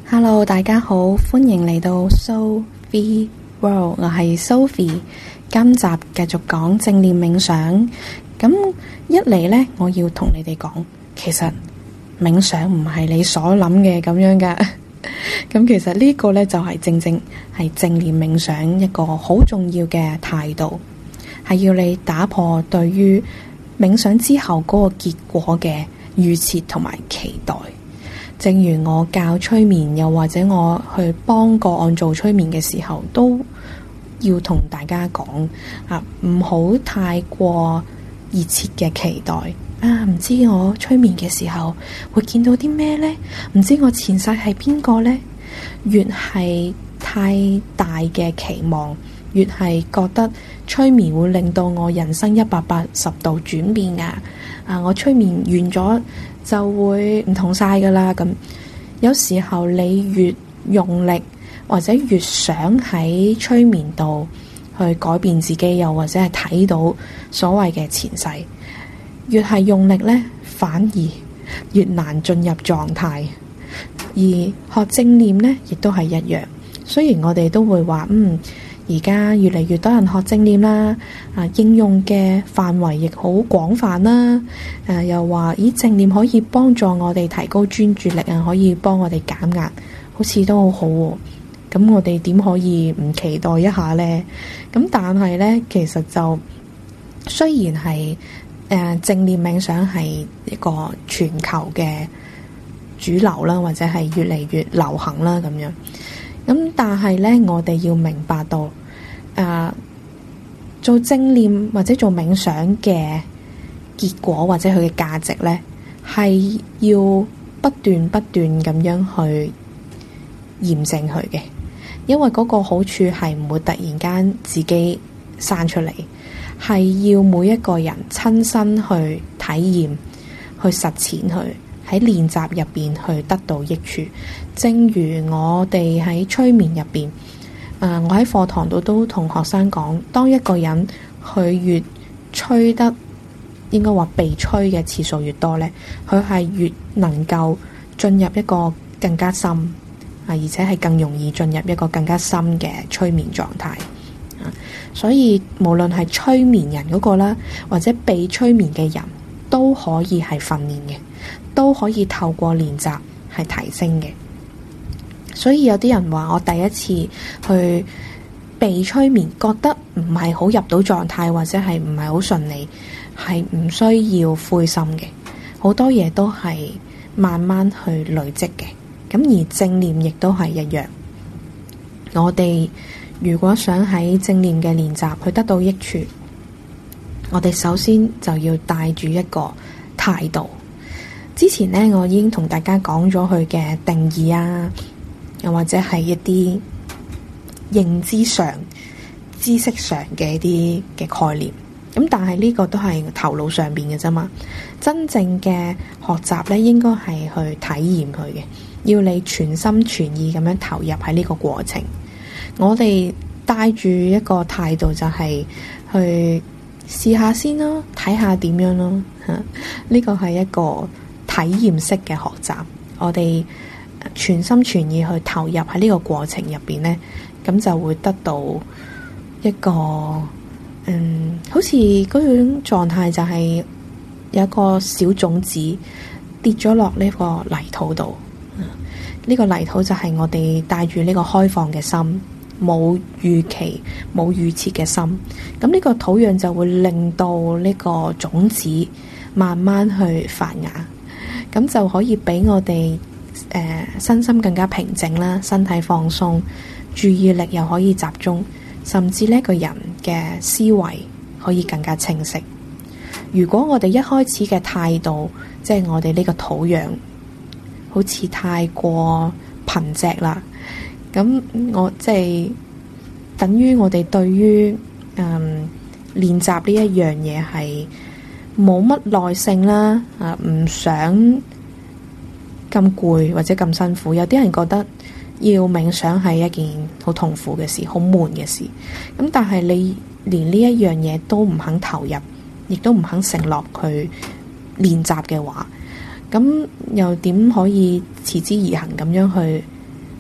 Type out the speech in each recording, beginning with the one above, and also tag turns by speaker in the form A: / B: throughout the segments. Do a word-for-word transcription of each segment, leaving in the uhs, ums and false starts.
A: Hello，大家好，歡迎嚟到 Sophie World，我係 Sophie。今集繼續講正念冥想。咁一嚟呢，我要同你哋講，其實冥想唔係你所諗嘅咁樣噶。咁其實呢個呢，就係正正係正念冥想一個好重要嘅態度，係要你打破對於冥想之後嗰個結果嘅預設同埋期待。正如我教催眠，又或者我去幫個案做催眠嘅時候，都要同大家講啊，唔好太過熱切嘅期待啊！唔知我催眠嘅時候會見到啲咩呢？唔知我前世係邊個呢？越係太大嘅期望，越係覺得催眠會令到我人生一百八十度轉變噶。啊，我催眠完咗就會唔同晒噶啦。咁有時候你越用力，或者越想喺催眠度去改變自己，又或者係睇到所謂嘅前世，越係用力呢，反而越難進入狀態。而學正念呢，亦都係一樣。雖然我哋都會話，嗯，而家越嚟越多人學正念啦，啊，應用嘅範圍亦好廣泛啦。誒、啊，又話，咦，正念可以幫助我哋提高專注力啊，可以幫我哋減壓，好似都好好喎。咁我哋點可以唔期待一下呢？咁但係呢，其實就雖然係誒、呃、正念冥想係一個全球嘅主流啦，或者係越嚟越流行啦咁樣。咁但係呢，我哋要明白到誒、呃、做正念或者做冥想嘅結果或者佢嘅價值呢，係要不斷不斷咁樣去驗證佢嘅。因為嗰個好處係唔會突然間自己生出嚟，係要每一個人親身去體驗、去實踐去喺練習入邊去得到益處。正如我哋喺催眠入邊，誒、呃，我喺課堂度都同學生講，當一個人佢越催得，應該話被催嘅次數越多呢，佢係越能夠進入一個更加深。而且係更容易進入一個更加深嘅催眠狀態。所以無論係催眠人嗰個啦，或者被催眠嘅人都可以係訓練嘅，都可以透過練習係提升嘅。所以有啲人話我第一次去被催眠，覺得唔係好入到狀態，或者係唔係好順利，係唔需要灰心嘅。好多嘢都係慢慢去累積嘅。咁而正念亦都係一樣，我哋如果想喺正念嘅練習去得到益處，我哋首先就要帶住一個態度。之前呢，我已經同大家講咗佢嘅定義啊，又或者係一啲認知上、知識上嘅一啲嘅概念。咁但係呢個都係頭腦上邊嘅啫嘛，真正嘅學習呢，應該係去體驗佢嘅。要你全心全意咁樣投入喺呢個過程。我哋帶住一個態度就係去試下先咯，睇下點樣咯。吓，呢個係一個體驗式嘅學習。我哋全心全意去投入喺呢個過程入邊呢，咁就會得到一個嗯，好似嗰種狀態就係有一個小種子跌咗落呢個泥土度。呢個泥土就係我哋帶住呢個開放嘅心，冇預期、冇預設嘅心。咁呢個土壤就會令到呢個種子慢慢去發芽，咁就可以俾我哋誒、呃、身心更加平靜啦，身體放鬆，注意力又可以集中，甚至呢個人嘅思維可以更加清晰。如果我哋一開始嘅態度，即係我哋呢個土壤，好似太過貧瘠啦，咁我即係等於我哋對於嗯練習呢一樣嘢係冇乜耐性啦，啊唔想咁攰或者咁辛苦。有啲人覺得要冥想係一件好痛苦嘅事，好悶嘅事。咁但係你連呢一樣嘢都唔肯投入，亦都唔肯承諾去練習嘅話，咁又點可以持之以恆咁樣去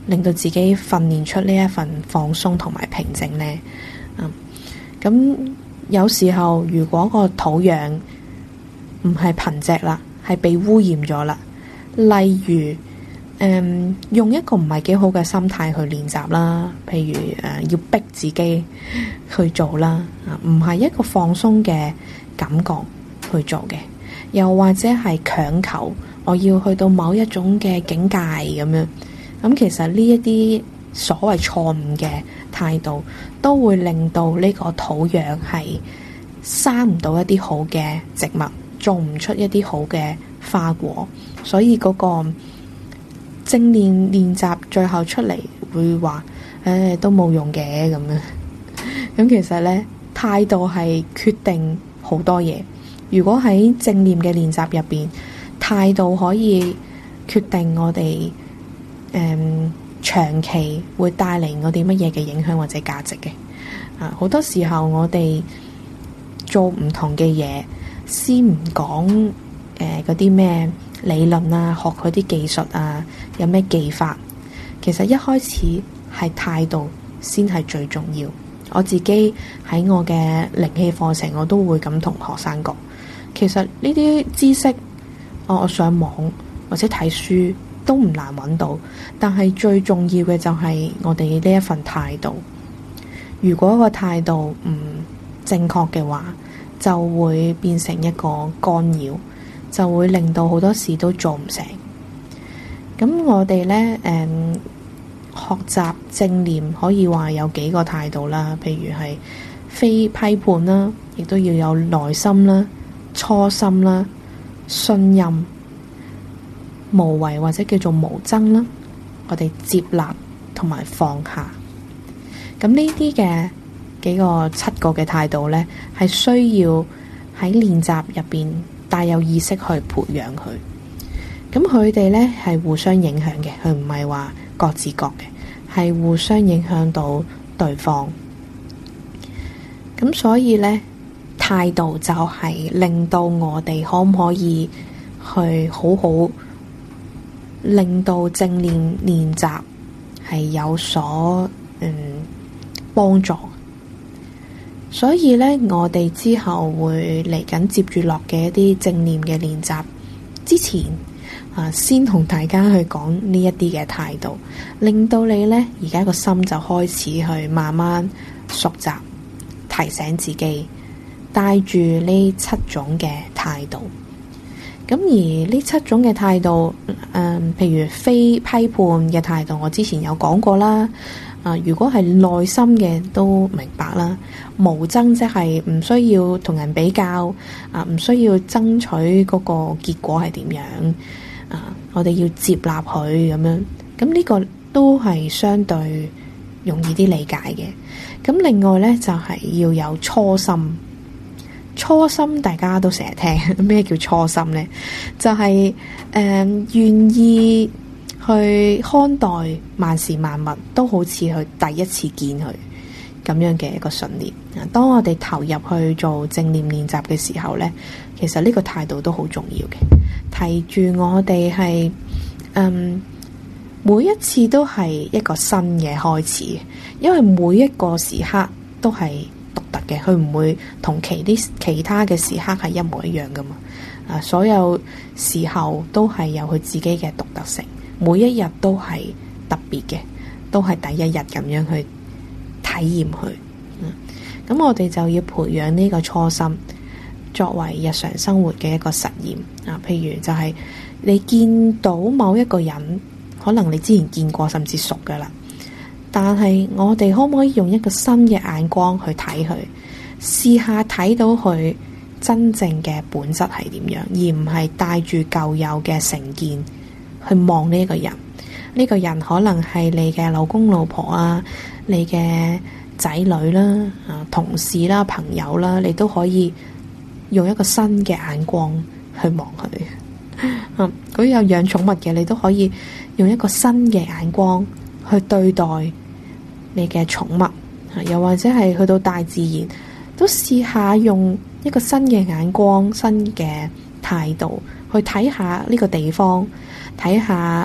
A: 令到自己訓練出呢一份放鬆同埋平靜呢？嗯，咁有時候如果個土壤唔係貧瘠啦，係被污染咗啦，例如誒、嗯、用一個唔係幾好嘅心態去練習啦，譬如誒、呃、要逼自己去做啦，啊唔係一個放鬆嘅感覺去做嘅，又或者係強求我要去到某一種嘅境界咁樣，咁其實呢一啲所謂錯誤嘅態度，都會令到呢個土壤係生唔到一啲好嘅植物，種唔出一啲好嘅花果，所以嗰個正念練習最後出嚟會話，誒都冇用嘅咁樣。咁其實呢，態度係決定好多嘢。如果喺正念嘅練習入邊，態度可以決定我哋誒、嗯、長期會帶嚟我哋乜嘢嘅影響或者價值嘅。啊，好多時候我哋做唔同嘅嘢，先唔講誒嗰啲咩理論啊，學佢啲技術啊，有咩技法，其實一開始係態度先係最重要。我自己喺我嘅靈氣課程，我都會咁同學生講，其實呢啲知識，我我上網或者睇書都唔難揾到，但係最重要嘅就係我哋呢一份態度。如果個態度唔正確嘅話，就會變成一個干擾，就會令到好多事都做唔成。咁我哋呢，誒、嗯，學習正念可以話有幾個態度啦，譬如係非批判啦，亦都要有耐心啦、初心啦、信任、無為或者叫做無憎啦，我哋接納同埋放下。咁呢啲嘅幾個七個嘅態度呢，係需要喺練習入邊帶有意識去培養佢。咁佢哋呢係互相影響嘅，佢唔係話各自各嘅，係互相影響到對方。咁所以呢，態度就係令到我哋可唔可以去好好令到正念練習係有所嗯幫助。所以呢，我哋之後會嚟緊接住落嘅一啲正念嘅練習之前啊，先同大家去講呢一啲嘅態度，令到你呢而家個心就開始去慢慢熟習，提醒自己帶住呢七種嘅態度。咁而呢七種嘅態度，誒、呃，譬如非批判嘅態度，我之前有講過啦。啊、呃，如果係內心嘅都明白啦。無爭即係唔需要同人比較，啊、呃，唔需要爭取嗰個結果係點樣，啊、呃，我哋要接納佢咁樣。咁呢個都係相對容易啲理解嘅。咁另外呢，就係、是、要有初心。初心大家都成日聽，咩叫初心呢？就係誒願意去看待萬事萬物都好似去第一次見佢咁樣嘅一個信念。當我哋投入去做正念練習嘅時候呢，其實呢個態度都好重要嘅。提住我哋係嗯每一次都係一個新嘅開始，因為每一個時刻都係獨特嘅，佢唔會同其啲其他嘅時刻係一模一樣噶嘛。啊，所有時候都係有佢自己嘅獨特性，每一日都係特別嘅，都係第一日咁樣去體驗佢。嗯，咁我哋就要培養呢個初心，作為日常生活嘅一個實驗。啊，譬如就係你見到某一個人，可能你之前見過甚至熟噶啦。但係我哋可唔可以用一個新嘅眼光去睇佢，試下睇到佢真正嘅本質係點樣，而唔係帶住舊有嘅成見去望呢一個人。呢個人可能係你嘅老公老婆啊，你嘅仔女啦、啊同事啦、朋友啦，你都可以用一個新嘅眼光去望佢。嗯，如果有養寵物嘅，你都可以用一個新嘅眼光去對待你嘅寵物，又或者係去到大自然，都試下用一個新嘅眼光、新嘅態度去睇下呢個地方，睇下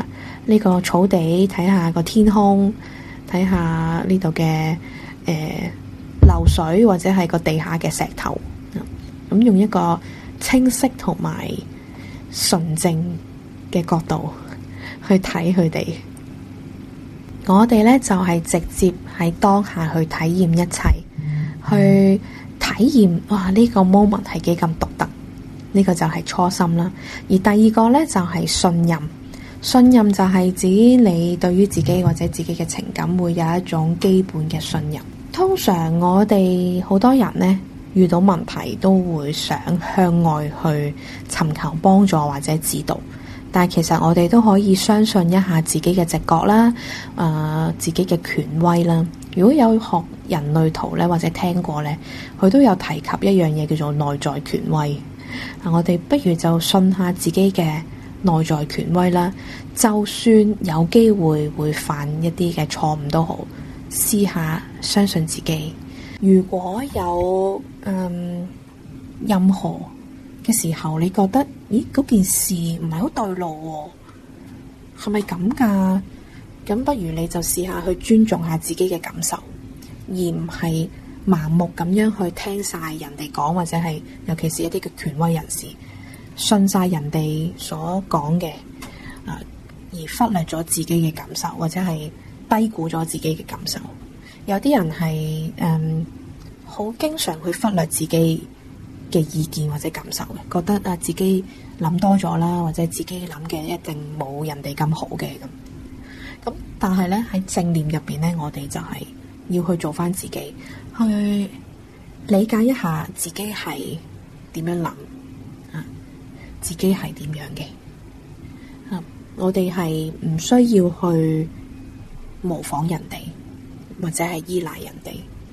A: 呢個草地，睇下個天空，睇下呢度嘅誒流水或者係個地下嘅石頭，咁用一個清晰同埋純正嘅角度去睇佢哋。我哋呢就係直接喺當下去體驗一切，去體驗哇呢個 moment 係幾咁獨特，呢個就係初心啦。而第二個呢就係信任，信任就係指你對於自己或者自己嘅情感會有一種基本嘅信任。通常我哋好多人呢遇到問題都會想向外去尋求幫助或者指導。但係其實我哋都可以相信一下自己嘅直覺啦，誒、呃，自己嘅權威啦。如果有學人類圖咧，或者聽過咧，佢都有提及一樣嘢叫做內在權威。啊，我哋不如就信下自己嘅內在權威啦。就算有機會會犯一啲嘅錯誤都好，試下相信自己。如果有嗯任何嘅時候，你覺得咦嗰件事唔係好對路喎，係咪咁噶？咁不如你就試下去尊重下自己嘅感受，而唔係盲目咁樣去聽晒人哋講，或者係尤其是一啲嘅權威人士，信晒人哋所講嘅，啊，而忽略咗自己嘅感受，或者係低估咗自己嘅感受。有啲人係誒好經常去忽略自己嘅意見或者感受嘅，覺得啊自己諗多咗啦，或者自己諗嘅一定冇人哋咁好嘅咁。咁但係咧喺正念入邊咧，我哋就係要去做翻自己，去理解一下自己係點樣諗啊，自己係點樣嘅啊，我哋係唔需要去模仿人哋或者係依賴人哋。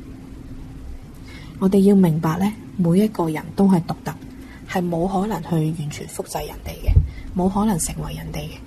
A: 我哋要明白咧，每一個人都係獨特，係冇可能去完全複製人哋嘅，冇可能成為人哋嘅。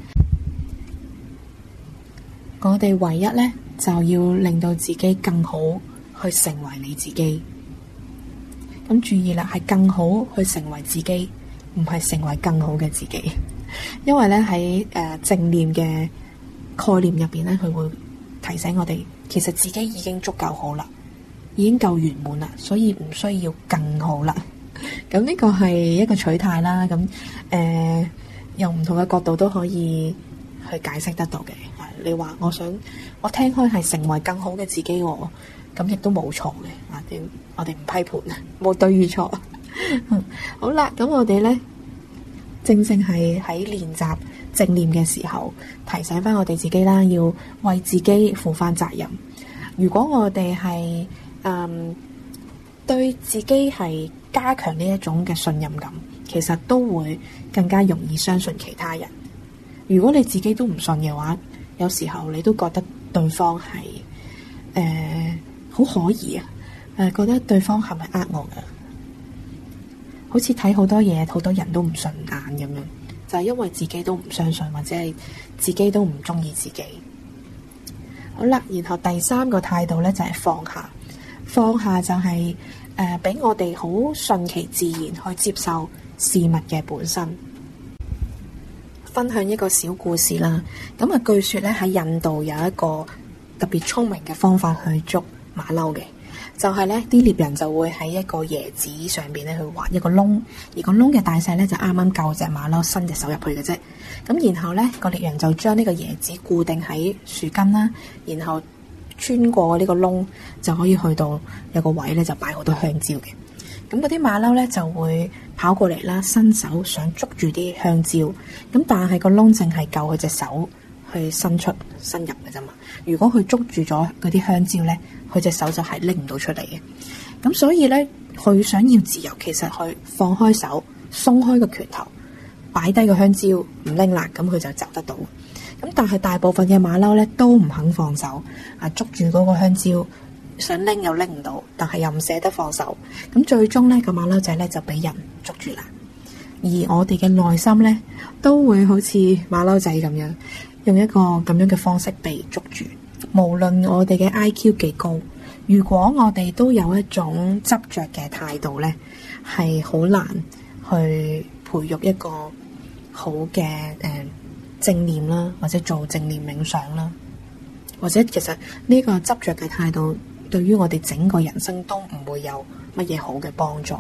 A: 我哋唯一咧就要令到自己更好，去成為你自己。咁注意啦，係更好去成為自己，唔係成為更好嘅自己。因為咧喺誒正念嘅概念入邊咧，佢會提醒我哋，其實自己已經足夠好啦。已經夠圓滿啦，所以唔需要更好啦。咁呢個係一個取態啦。咁誒、呃，用唔同嘅角度都可以去解釋得到嘅。你話我想我聽開係成為更好嘅自己，咁亦都冇錯嘅。啊，點我哋唔批判，冇對與錯。好啦，咁我哋呢，正正係喺練習正念嘅時候，提醒翻我哋自己啦，要為自己負翻責任。如果我哋係嗯，對自己係加強呢一種嘅信任感，其實都會更加容易相信其他人。如果你自己都唔信嘅話，有時候你都覺得對方係誒好可疑啊，誒、呃、覺得對方係咪呃我噶？好似睇好多嘢，好多人都唔順眼咁樣，就係因為自己都唔相信，或者係自己都唔中意自己。好啦，然後第三個態度咧就係放下。放下就係誒俾我哋好順其自然去接受事物嘅本身。分享一個小故事啦。咁啊，據說咧喺印度有一個特別聰明嘅方法去捉馬騮嘅，就係咧啲獵人就會喺一個椰子上邊咧去挖一個窿，而個窿嘅大細咧就啱啱夠隻馬騮伸隻手入去嘅啫。咁然後咧個獵人就將呢個椰子固定喺樹根啦，然後穿過呢個窿就可以去到有個位咧，就擺好多香蕉嘅。咁嗰啲馬騮咧就會跑過嚟啦，伸手想捉住啲香蕉。咁但係個窿淨係夠佢隻手去伸出伸入嘅啫嘛。如果佢捉住咗嗰啲香蕉咧，佢隻手就係拎唔到出嚟嘅。咁所以咧，佢想要自由，其實佢放開手，鬆開個拳頭，擺低個香蕉唔拎啦，咁佢就走得到。咁但係大部分嘅馬騮咧都唔肯放手，啊捉住嗰個香蕉想拎又拎唔到，但係又唔捨得放手。咁最終咧個馬騮仔咧就俾人捉住啦。而我哋嘅內心咧都會好似馬騮仔咁樣，用一個咁樣嘅方式被捉住。無論我哋嘅 I Q 幾高，如果我哋都有一種執着嘅態度咧，係好難去培育一個好嘅誒。呃正念啦，或者做正念冥想啦，或者其實呢個執着嘅態度，對於我哋整個人生都唔會有乜嘢好嘅幫助。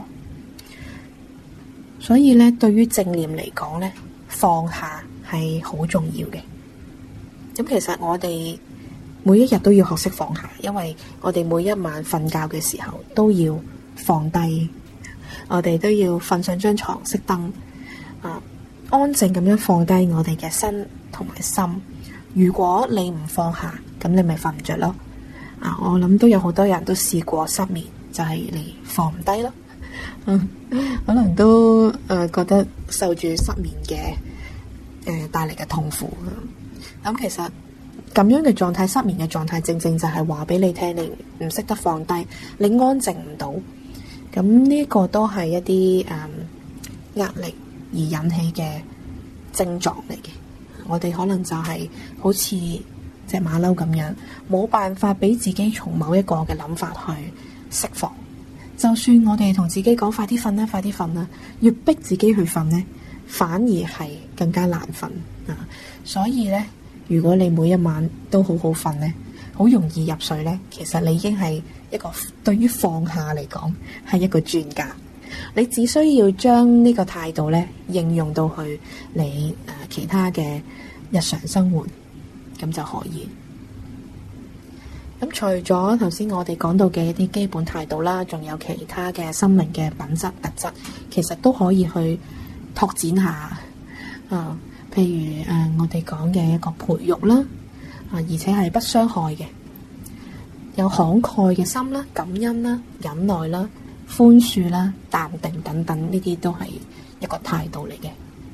A: 所以咧，對於正念嚟講咧，放下係好重要嘅。咁其實我哋每一日都要學識放下，因為我哋每一晚瞓覺嘅時候都要放低，我哋都要瞓上張床熄燈啊，安靜咁樣放低我哋嘅身同埋心。如果你唔放下，咁你咪瞓唔着咯。啊，我諗都有好多人都試過失眠，就係你放唔低咯。嗯，可能都誒、呃、覺得受住失眠嘅誒帶嚟嘅痛苦。咁、嗯、其實咁樣嘅狀態，失眠嘅狀態，正正就係話俾你聽，你唔識得放低，你安靜唔到。咁呢個都係一啲誒壓力而引起嘅症狀嚟嘅。我哋可能就係好似隻馬騮咁樣，冇辦法俾自己從某一個嘅諗法去釋放。就算我哋同自己講快啲瞓啦，快啲瞓啦，越逼自己去瞓呢，反而係更加難瞓啊！所以呢，如果你每一晚都好好瞓呢，好容易入睡呢，其實你已經係一個對於放下嚟講係一個專家。你只需要將呢個態度呢應用到去你誒、呃、其他嘅日常生活，咁就可以。咁除咗頭先我哋講到嘅一啲基本態度啦，仲有其他嘅心靈嘅品質特質，其實都可以去拓展下。啊、呃，譬如誒、呃、我哋講嘅一個培育啦，啊、呃，而且係不傷害嘅，有慷慨嘅心啦、感恩啦、忍耐啦、寬恕啦、淡定等等，呢啲都係一個態度嚟嘅。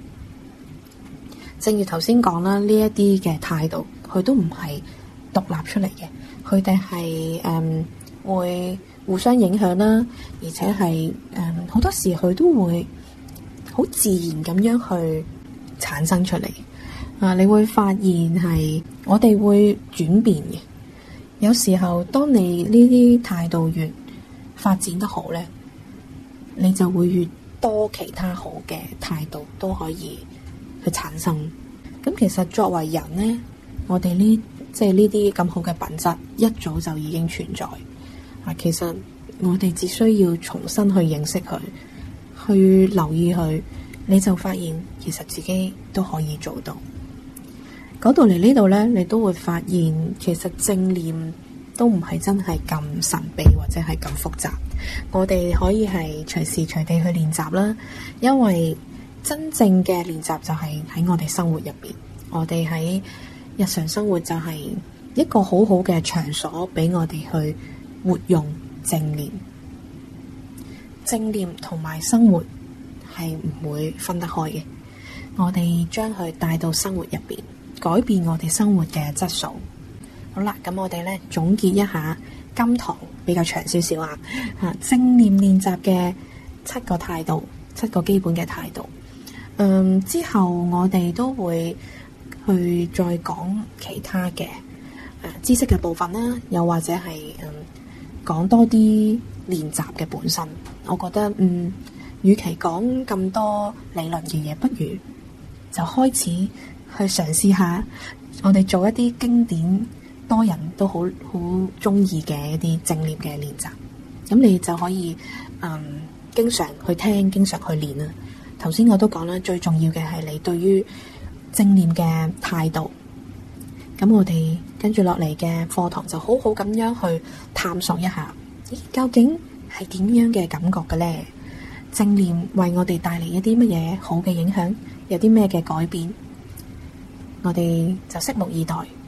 A: 正如頭先講啦，呢一啲嘅態度，佢都唔係獨立出嚟嘅。佢哋係誒會互相影響啦，而且係誒好多時佢都會好自然咁樣去產生出嚟。啊，你會發現係我哋會轉變嘅。有時候當你呢啲態度越發展得好咧，你就會越多其他好嘅態度都可以去產生。咁其實作為人咧，我哋呢即係呢啲咁好嘅品質，一早就已經存在。啊，其實我哋只需要重新去認識佢，去留意佢，你就發現其實自己都可以做到。講到嚟呢度咧，你都會發現其實正念都唔係真係咁神秘或者係咁複雜。我哋可以係隨時隨地去練習啦，因為真正嘅練習就係喺我哋生活入邊，我哋喺日常生活就係一個好好嘅場所，俾我哋去活用正念。正念同埋生活係唔會分得開嘅，我哋將佢帶到生活入邊，改變我哋生活嘅質素。好啦，咁我哋咧總結一下今堂比較長少少啊，吓正念練習嘅七個態度，七個基本嘅態度。嗯，之後我哋都會去再講其他嘅誒、呃、知識嘅部分啦，又或者係嗯講多啲練習嘅本身。我覺得嗯，與其講咁多理論嘅嘢，不如就開始去嘗試下，我哋做一啲經典多人都好好中意嘅一啲正念嘅練習。咁你就可以嗯經常去聽，經常去練啦。頭先我都講啦，最重要嘅係你對於正念嘅態度。咁我哋跟住落嚟嘅課堂就好好咁樣去探索一下，咦，究竟係點樣嘅感覺嘅咧？正念為我哋帶嚟一啲乜嘢好嘅影響，有啲咩嘅改變？我哋就拭目以待。